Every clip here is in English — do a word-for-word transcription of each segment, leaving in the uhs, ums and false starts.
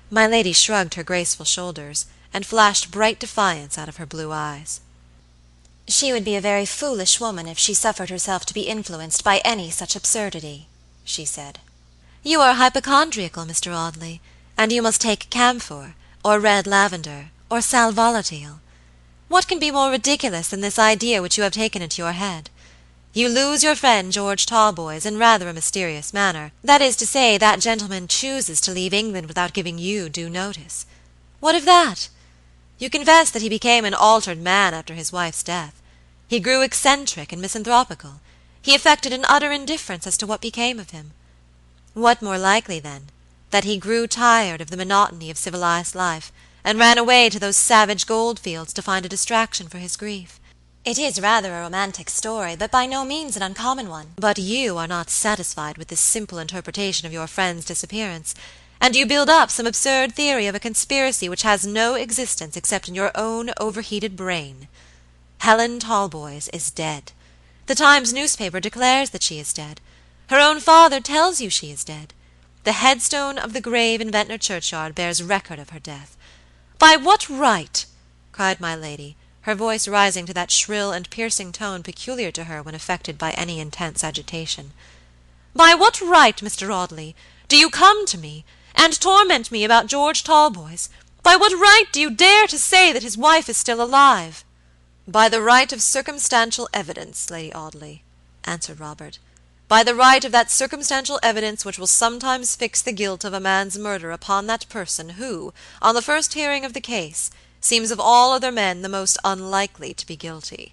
My lady shrugged her graceful shoulders, and flashed bright defiance out of her blue eyes. "She would be a very foolish woman if she suffered herself to be influenced by any such absurdity," she said. "You are hypochondriacal, Mr. Audley, and you must take camphor, or red lavender, or sal volatile. What can be more ridiculous than this idea which you have taken into your head? You lose your friend George Talboys in rather a mysterious manner; that is to say, that gentleman chooses to leave England without giving you due notice. What of that? You confess that he became an altered man after his wife's death. He grew eccentric and misanthropical; he affected an utter indifference as to what became of him. What more likely, then, that he grew tired of the monotony of civilized life, and ran away to those savage gold fields to find a distraction for his grief? It is rather a romantic story, but by no means an uncommon one. But you are not satisfied with this simple interpretation of your friend's disappearance, and you build up some absurd theory of a conspiracy which has no existence except in your own overheated brain. Helen Talboys is dead. The Times newspaper declares that she is dead. Her own father tells you she is dead. The headstone of the grave in Ventnor churchyard bears record of her death. By what right?" cried my lady, her voice rising to that shrill and piercing tone peculiar to her when affected by any intense agitation. "By what right, Mr. Audley, do you come to me, and torment me about George Talboys? By what right do you dare to say that his wife is still alive?" "By the right of circumstantial evidence, Lady Audley," answered Robert. "By the right of that circumstantial evidence which will sometimes fix the guilt of a man's murder upon that person who, on the first hearing of the case, seems of all other men the most unlikely to be guilty."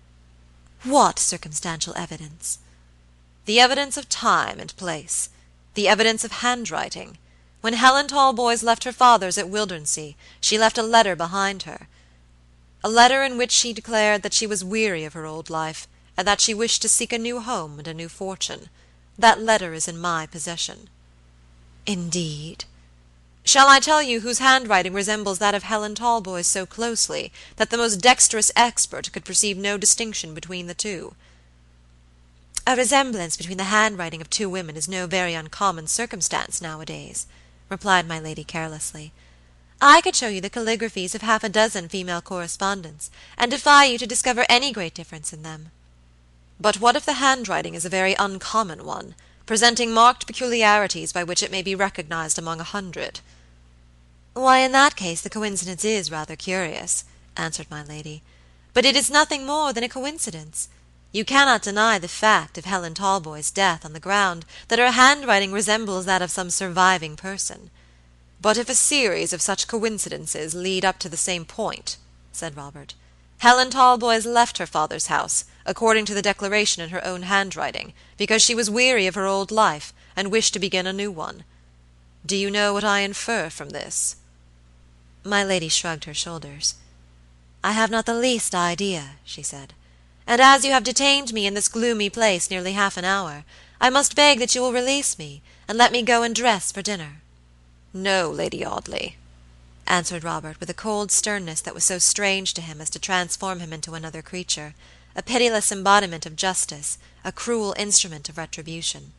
"What circumstantial evidence?" "The evidence of time and place; the evidence of handwriting. When Helen Talboys left her father's at Wildernsea, she left a letter behind her. A letter in which she declared that she was weary of her old life, and that she wished to seek a new home and a new fortune. That letter is in my possession." "Indeed?" "Shall I tell you whose handwriting resembles that of Helen Talboys so closely, that the most dexterous expert could perceive no distinction between the two?" "A resemblance between the handwriting of two women is no very uncommon circumstance nowadays," replied my lady carelessly. "I could show you the calligraphies of half a dozen female correspondents, and defy you to discover any great difference in them." "But what if the handwriting is a very uncommon one, presenting marked peculiarities by which it may be recognized among a hundred?" "Why, in that case the coincidence is rather curious," answered my lady; "but it is nothing more than a coincidence. You cannot deny the fact of Helen Talboys' death on the ground that her handwriting resembles that of some surviving person." "But if a series of such coincidences lead up to the same point," said Robert. "Helen Talboys left her father's house, according to the declaration in her own handwriting, because she was weary of her old life, and wished to begin a new one. Do you know what I infer from this?" My lady shrugged her shoulders. "I have not the least idea," she said; "and as you have detained me in this gloomy place nearly half an hour, I must beg that you will release me, and let me go and dress for dinner." "No, Lady Audley," answered Robert, with a cold sternness that was so strange to him as to transform him into another creature, a pitiless embodiment of justice, a cruel instrument of retribution.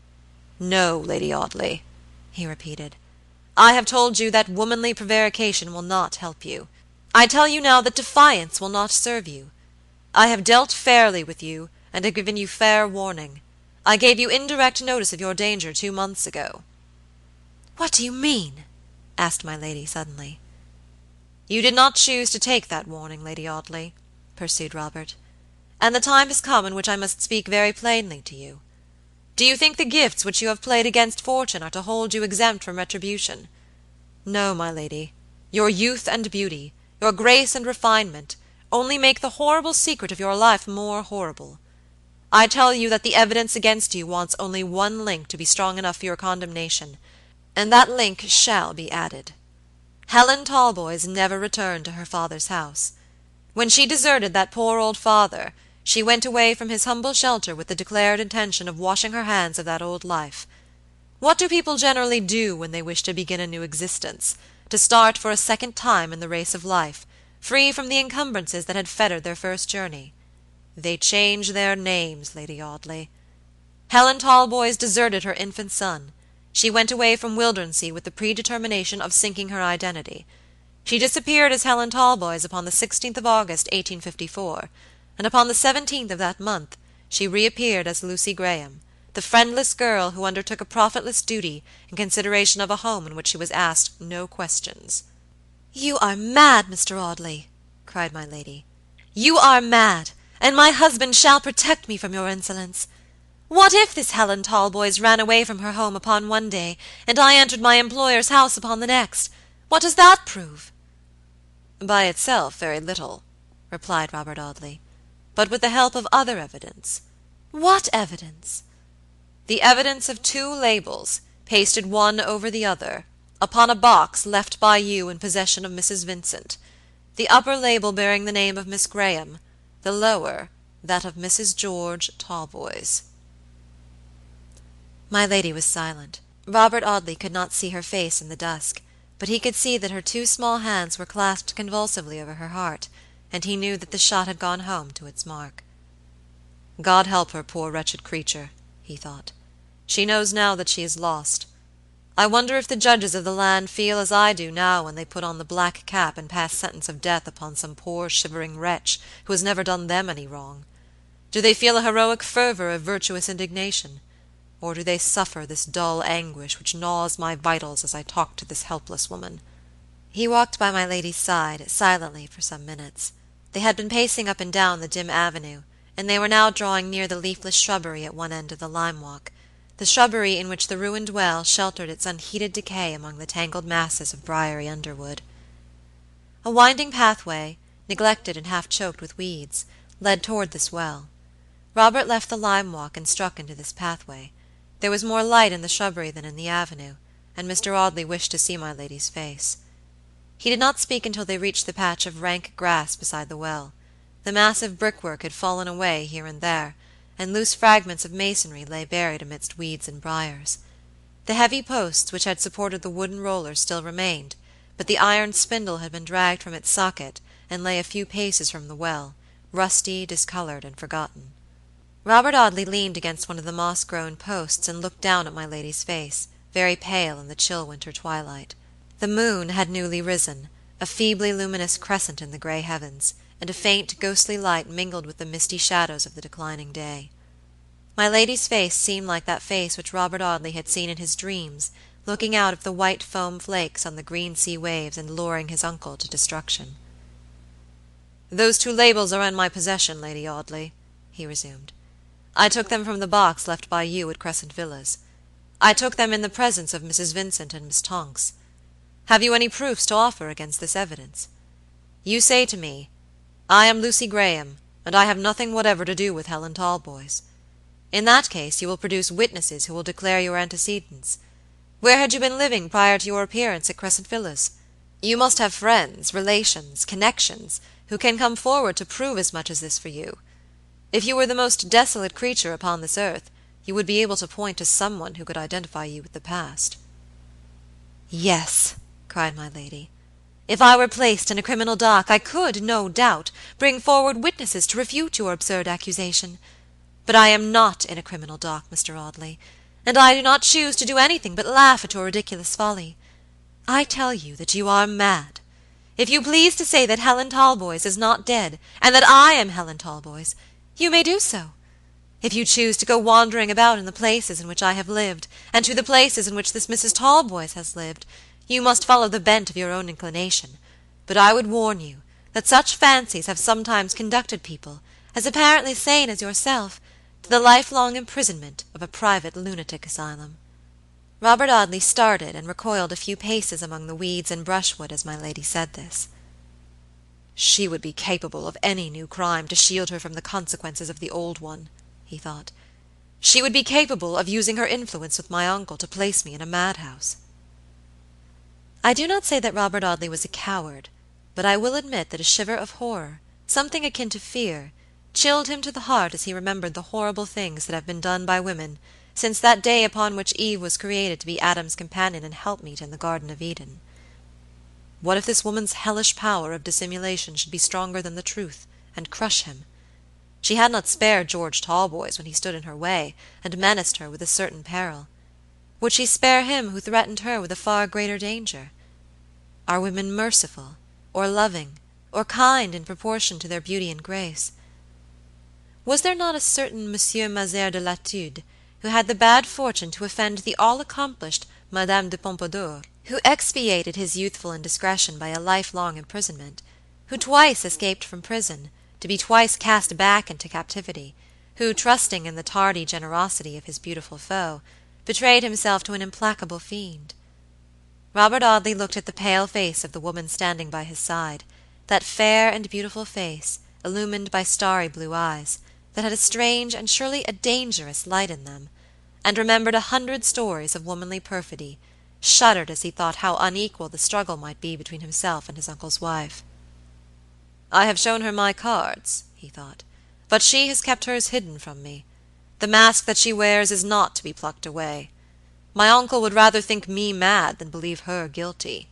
"No, Lady Audley," he repeated. "I have told you that womanly prevarication will not help you. I tell you now that defiance will not serve you. I have dealt fairly with you, and have given you fair warning. I gave you indirect notice of your danger two months ago." "What do you mean?" asked my lady suddenly. "You did not choose to take that warning, Lady Audley," pursued Robert, "and the time has come in which I must speak very plainly to you. Do you think the gifts which you have played against fortune are to hold you exempt from retribution? No, my lady; your youth and beauty, your grace and refinement, only make the horrible secret of your life more horrible. I tell you that the evidence against you wants only one link to be strong enough for your condemnation, and that link shall be added. Helen Talboys never returned to her father's house. When she deserted that poor old father, she went away from his humble shelter with the declared intention of washing her hands of that old life. What do people generally do when they wish to begin a new existence, to start for a second time in the race of life, free from the encumbrances that had fettered their first journey? They change their names, Lady Audley. Helen Talboys deserted her infant son. She went away from Wildernsea with the predetermination of sinking her identity. She disappeared as Helen Talboys upon the sixteenth of August, eighteen fifty-four, and upon the seventeenth of that month she reappeared as Lucy Graham, the friendless girl who undertook a profitless duty in consideration of a home in which she was asked no questions. "You are mad, Mr. Audley," cried my lady. "You are mad, and my husband shall protect me from your insolence. What if this Helen Talboys ran away from her home upon one day, and I entered my employer's house upon the next? What does that prove?" "By itself very little," replied Robert Audley, "but with the help of other evidence." "What evidence?" "The evidence of two labels, pasted one over the other, upon a box left by you in possession of Missus Vincent; the upper label bearing the name of Miss Graham, the lower that of Missus George Talboys." My lady was silent. Robert Audley could not see her face in the dusk, but he could see that her two small hands were clasped convulsively over her heart, and he knew that the shot had gone home to its mark. "God help her, poor wretched creature," he thought. "She knows now that she is lost. I wonder if the judges of the land feel as I do now when they put on the black cap and pass sentence of death upon some poor shivering wretch who has never done them any wrong. Do they feel a heroic fervor of virtuous indignation? Or do they suffer this dull anguish which gnaws my vitals as I talk to this helpless woman?" He walked by my lady's side, silently, for some minutes. They had been pacing up and down the dim avenue, and they were now drawing near the leafless shrubbery at one end of the lime walk, the shrubbery in which the ruined well sheltered its unheeded decay among the tangled masses of briery underwood. A winding pathway, neglected and half choked with weeds, led toward this well. Robert left the lime walk and struck into this pathway. There was more light in the shrubbery than in the avenue, and Mr. Audley wished to see my lady's face. He did not speak until they reached the patch of rank grass beside the well. The massive brickwork had fallen away here and there, and loose fragments of masonry lay buried amidst weeds and briars. The heavy posts which had supported the wooden rollers still remained, but the iron spindle had been dragged from its socket and lay a few paces from the well, rusty, discolored, and forgotten. Robert Audley leaned against one of the moss-grown posts and looked down at my lady's face, very pale in the chill winter twilight. The moon had newly risen, a feebly luminous crescent in the gray heavens, and a faint ghostly light mingled with the misty shadows of the declining day. My lady's face seemed like that face which Robert Audley had seen in his dreams, looking out of the white foam flakes on the green sea waves and luring his uncle to destruction. "Those two labels are in my possession, Lady Audley," he resumed. "I took them from the box left by you at Crescent Villas. I took them in the presence of Missus Vincent and Miss Tonks. Have you any proofs to offer against this evidence? You say to me, 'I am Lucy Graham, and I have nothing whatever to do with Helen Talboys.' In that case you will produce witnesses who will declare your antecedents. Where had you been living prior to your appearance at Crescent Villas? You must have friends, relations, connections, who can come forward to prove as much as this for you. If you were the most desolate creature upon this earth, you would be able to point to some one who could identify you with the past." "Yes," cried my lady. "If I were placed in a criminal dock, I could, no doubt, bring forward witnesses to refute your absurd accusation. But I am not in a criminal dock, Mr. Audley, and I do not choose to do anything but laugh at your ridiculous folly. I tell you that you are mad. If you please to say that Helen Talboys is not dead, and that I am Helen Talboys, you may do so. If you choose to go wandering about in the places in which I have lived, and to the places in which this Missus Talboys has lived, you must follow the bent of your own inclination; but I would warn you that such fancies have sometimes conducted people, as apparently sane as yourself, to the lifelong imprisonment of a private lunatic asylum." Robert Audley started and recoiled a few paces among the weeds and brushwood as my lady said this. "She would be capable of any new crime to shield her from the consequences of the old one," he thought. "She would be capable of using her influence with my uncle to place me in a madhouse." I do not say that Robert Audley was a coward, but I will admit that a shiver of horror, something akin to fear, chilled him to the heart as he remembered the horrible things that have been done by women since that day upon which Eve was created to be Adam's companion and helpmeet in the Garden of Eden. What if this woman's hellish power of dissimulation should be stronger than the truth, and crush him? She had not spared George Talboys when he stood in her way, and menaced her with a certain peril. Would she spare him who threatened her with a far greater danger? Are women merciful, or loving, or kind in proportion to their beauty and grace? Was there not a certain Monsieur Mazere de Latude, who had the bad fortune to offend the all-accomplished Madame de Pompadour, who expiated his youthful indiscretion by a lifelong imprisonment, who twice escaped from prison, to be twice cast back into captivity, who, trusting in the tardy generosity of his beautiful foe, betrayed himself to an implacable fiend? Robert Audley looked at the pale face of the woman standing by his side, that fair and beautiful face, illumined by starry blue eyes, that had a strange and surely a dangerous light in them, and remembered a hundred stories of womanly perfidy, shuddered as he thought how unequal the struggle might be between himself and his uncle's wife. "I have shown her my cards," he thought, "but she has kept hers hidden from me. The mask that she wears is not to be plucked away. My uncle would rather think me mad than believe her guilty."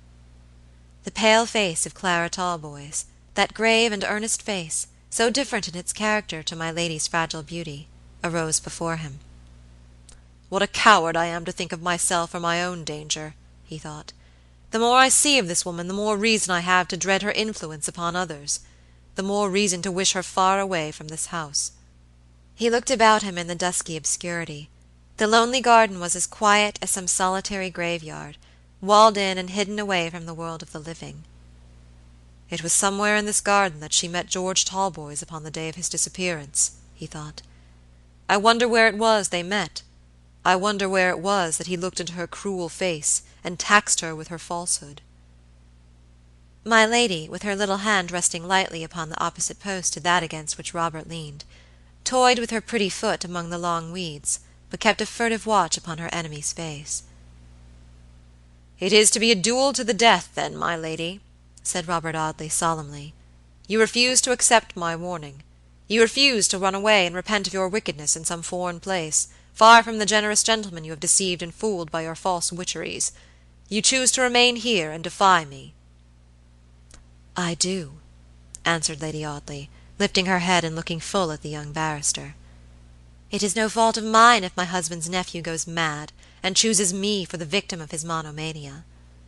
The pale face of Clara Talboys, that grave and earnest face, so different in its character to my lady's fragile beauty, arose before him. "What a coward I am to think of myself or my own danger," he thought. "The more I see of this woman, the more reason I have to dread her influence upon others, the more reason to wish her far away from this house." He looked about him in the dusky obscurity. The lonely garden was as quiet as some solitary graveyard, walled in and hidden away from the world of the living. "It was somewhere in this garden that she met George Talboys upon the day of his disappearance," he thought. "I wonder where it was they met. I wonder where it was that he looked into her cruel face, and taxed her with her falsehood." My lady, with her little hand resting lightly upon the opposite post to that against which Robert leaned, toyed with her pretty foot among the long weeds, but kept a furtive watch upon her enemy's face. "It is to be a duel to the death, then, my lady," said Robert Audley, solemnly. "You refuse to accept my warning. You refuse to run away and repent of your wickedness in some foreign place, far from the generous gentleman you have deceived and fooled by your false witcheries. You choose to remain here and defy me." "I do," answered Lady Audley, lifting her head and looking full at the young barrister. "It is no fault of mine if my husband's nephew goes mad, and chooses me for the victim of his monomania."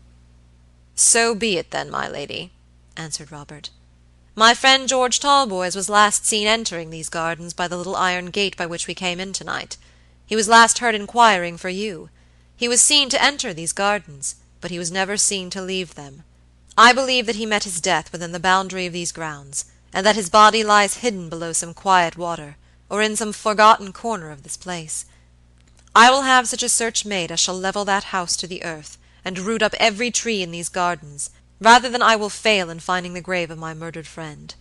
"So be it, then, my lady," answered Robert. "My friend George Talboys was last seen entering these gardens by the little iron gate by which we came in tonight. He was last heard inquiring for you. He was seen to enter these gardens, but he was never seen to leave them. I believe that he met his death within the boundary of these grounds, and that his body lies hidden below some quiet water, or in some forgotten corner of this place. I will have such a search made as shall level that house to the earth, and root up every tree in these gardens, rather than I will fail in finding the grave of my murdered friend."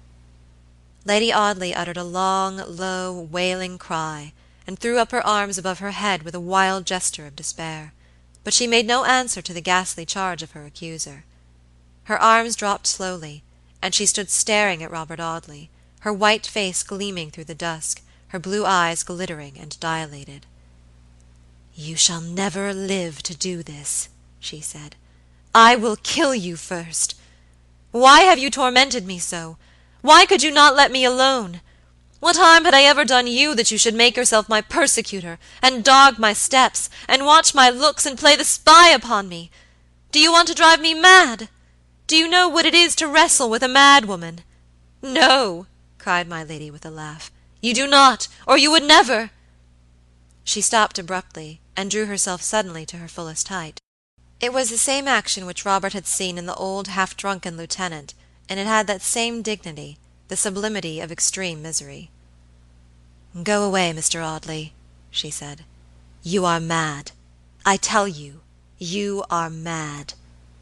Lady Audley uttered a long, low, wailing cry, and threw up her arms above her head with a wild gesture of despair, but she made no answer to the ghastly charge of her accuser. Her arms dropped slowly, and she stood staring at Robert Audley, her white face gleaming through the dusk, her blue eyes glittering and dilated. "You shall never live to do this," she said. "I will kill you first. Why have you tormented me so? Why could you not let me alone? What harm had I ever done you that you should make yourself my persecutor, and dog my steps, and watch my looks, and play the spy upon me? Do you want to drive me mad? Do you know what it is to wrestle with a mad woman? No," cried my lady with a laugh, "you do not, or you would never—" She stopped abruptly, and drew herself suddenly to her fullest height. It was the same action which Robert had seen in the old half-drunken lieutenant, and it had that same dignity, the sublimity of extreme misery. "Go away, Mister Audley," she said. "You are mad. I tell you, you are mad."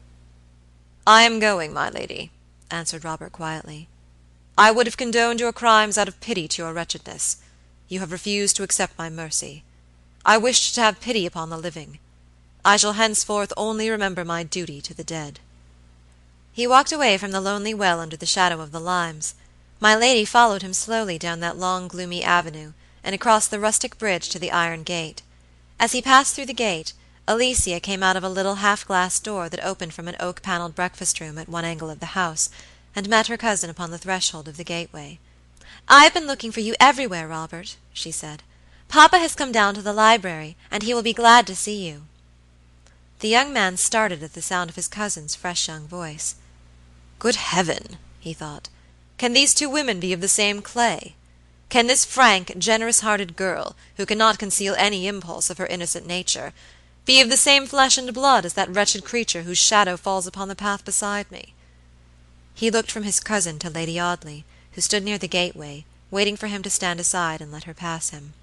"I am going, my lady," answered Robert quietly. "I would have condoned your crimes out of pity to your wretchedness. You have refused to accept my mercy. I wished to have pity upon the living. I shall henceforth only remember my duty to the dead." He walked away from the lonely well under the shadow of the limes. My lady followed him slowly down that long gloomy avenue, and across the rustic bridge to the iron gate. As he passed through the gate, Alicia came out of a little half-glass door that opened from an oak-paneled breakfast-room at one angle of the house, and met her cousin upon the threshold of the gateway. "I have been looking for you everywhere, Robert," she said, Papa has come down to the library, and he will be glad to see you." The young man started at the sound of his cousin's fresh young voice. "Good Heaven!" he thought, "can these two women be of the same clay? Can this frank, generous-hearted girl, who cannot conceal any impulse of her innocent nature, be of the same flesh and blood as that wretched creature whose shadow falls upon the path beside me?" He looked from his cousin to Lady Audley, who stood near the gateway, waiting for him to stand aside and let her pass him.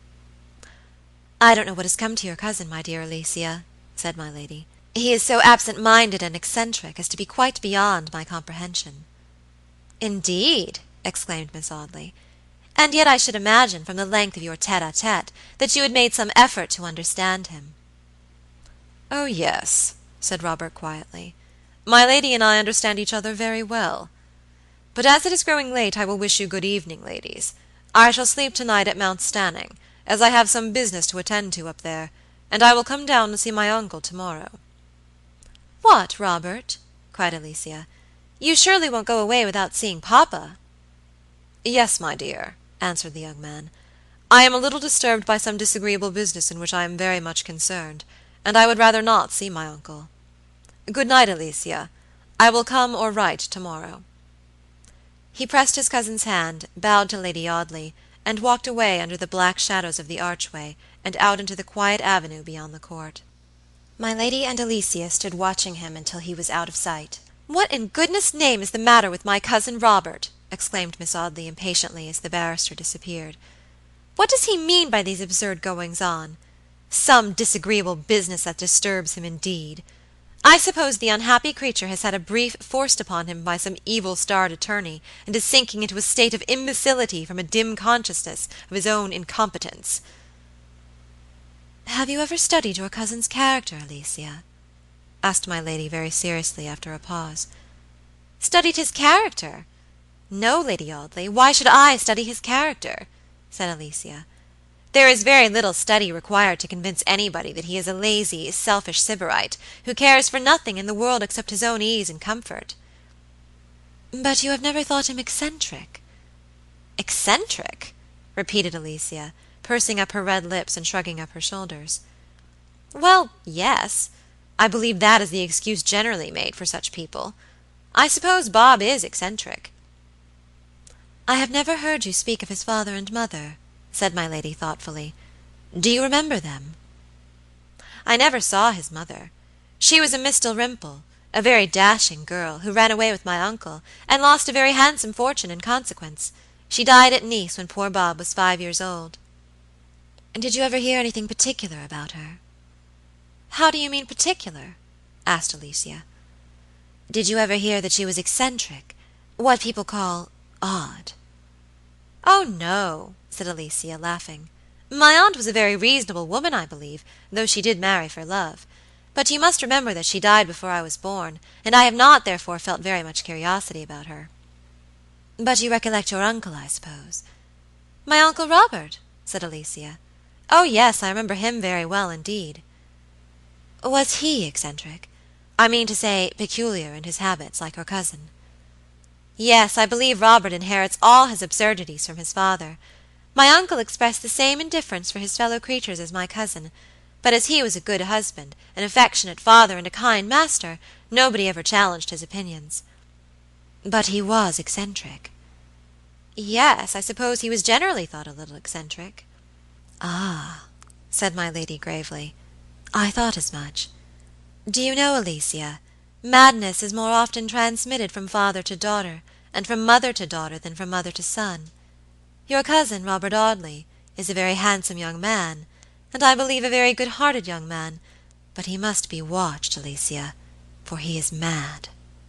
"I don't know what has come to your cousin, my dear Alicia," said my lady. "He is so absent-minded and eccentric as to be quite beyond my comprehension." "Indeed!" exclaimed Miss Audley. "And yet I should imagine, from the length of your tete-a-tete, that you had made some effort to understand him." "Oh, yes," said Robert quietly. "My lady and I understand each other very well. But as it is growing late I will wish you good evening, ladies. I shall sleep to-night at Mount Stanning, as I have some business to attend to up there, and I will come down and see my uncle to-morrow." "What, Robert!" cried Alicia. "You surely won't go away without seeing papa?" "Yes, my dear," answered the young man. "I am a little disturbed by some disagreeable business in which I am very much concerned, and I would rather not see my uncle. Good night, Alicia. I will come or write to-morrow." He pressed his cousin's hand, bowed to Lady Audley, and walked away under the black shadows of the archway, and out into the quiet avenue beyond the court. My lady and Alicia stood watching him until he was out of sight. "What in goodness' name is the matter with my cousin Robert?" exclaimed Miss Audley impatiently as the barrister disappeared. "What does he mean by these absurd goings-on? Some disagreeable business that disturbs him, indeed. I suppose the unhappy creature has had a brief forced upon him by some evil-starred attorney, and is sinking into a state of imbecility from a dim consciousness of his own incompetence." "Have you ever studied your cousin's character, Alicia?" asked my lady very seriously after a pause. "Studied his character? No, Lady Audley, why should I study his character?" said Alicia. "There is very little study required to convince anybody that he is a lazy, selfish sybarite, who cares for nothing in the world except his own ease and comfort." "But you have never thought him eccentric?" "Eccentric?" repeated Alicia, pursing up her red lips and shrugging up her shoulders. "Well, yes. I believe that is the excuse generally made for such people. I suppose Bob is eccentric." "I have never heard you speak of his father and mother," said my lady thoughtfully. "Do you remember them?" "I never saw his mother. She was a Miss Dalrymple, a very dashing girl, who ran away with my uncle, and lost a very handsome fortune in consequence. She died at Nice when poor Bob was five years old." "Did you ever hear anything particular about her?" "How do you mean particular?" asked Alicia. "Did you ever hear that she was eccentric, what people call odd?" "Oh, no," said Alicia, laughing. "My aunt was a very reasonable woman, I believe, though she did marry for love. But you must remember that she died before I was born, and I have not therefore felt very much curiosity about her." "But you recollect your uncle, I suppose?" "My uncle Robert?" said Alicia. "Oh, yes, I remember him very well indeed." "Was he eccentric? I mean to say, peculiar in his habits, like your cousin?" "Yes, I believe Robert inherits all his absurdities from his father. My uncle expressed the same indifference for his fellow creatures as my cousin, but as he was a good husband, an affectionate father, and a kind master, nobody ever challenged his opinions." "But he was eccentric?" "Yes, I suppose he was generally thought a little eccentric." "Ah," said my lady gravely, "I thought as much. Do you know, Alicia, madness is more often transmitted from father to daughter, and from mother to daughter than from mother to son. Your cousin, Robert Audley, is a very handsome young man, and I believe a very good-hearted young man, but he must be watched, Alicia, for he is mad."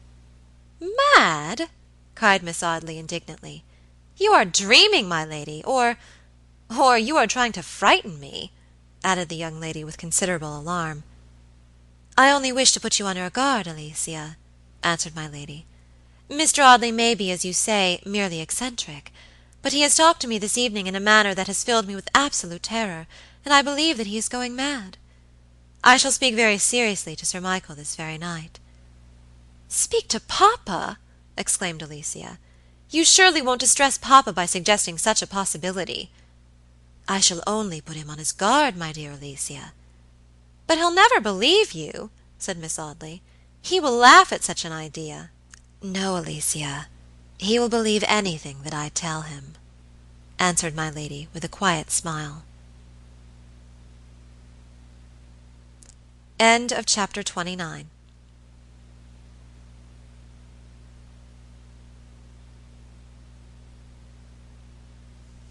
"Mad!" cried Miss Audley indignantly. "You are dreaming, my lady, or—or you are trying to frighten me," added the young lady with considerable alarm. "I only wish to put you on your guard, Alicia," answered my lady. "Mr. Audley may be, as you say, merely eccentric, but he has talked to me this evening in a manner that has filled me with absolute terror, and I believe that he is going mad. I shall speak very seriously to Sir Michael this very night." "Speak to papa!" exclaimed Alicia. "You surely won't distress papa by suggesting such a possibility." I shall only put him on his guard, my dear Alicia." "But he'll never believe you," said Miss Audley. "He will laugh at such an idea." "No, Alicia, he will believe anything that I tell him," answered my lady, with a quiet smile. CHAPTER twenty-nine.